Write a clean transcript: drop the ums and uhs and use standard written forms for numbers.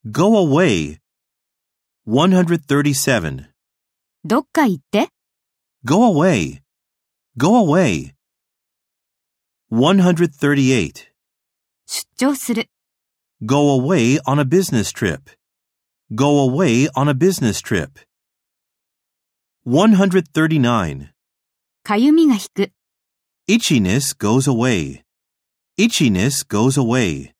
Go away. 137. どっか行って。 Go away. Go away. 138. 出張する。 Go away on a business trip. Go away on a business trip. 139. かゆみが引く。 Itchiness goes away. Itchiness goes away.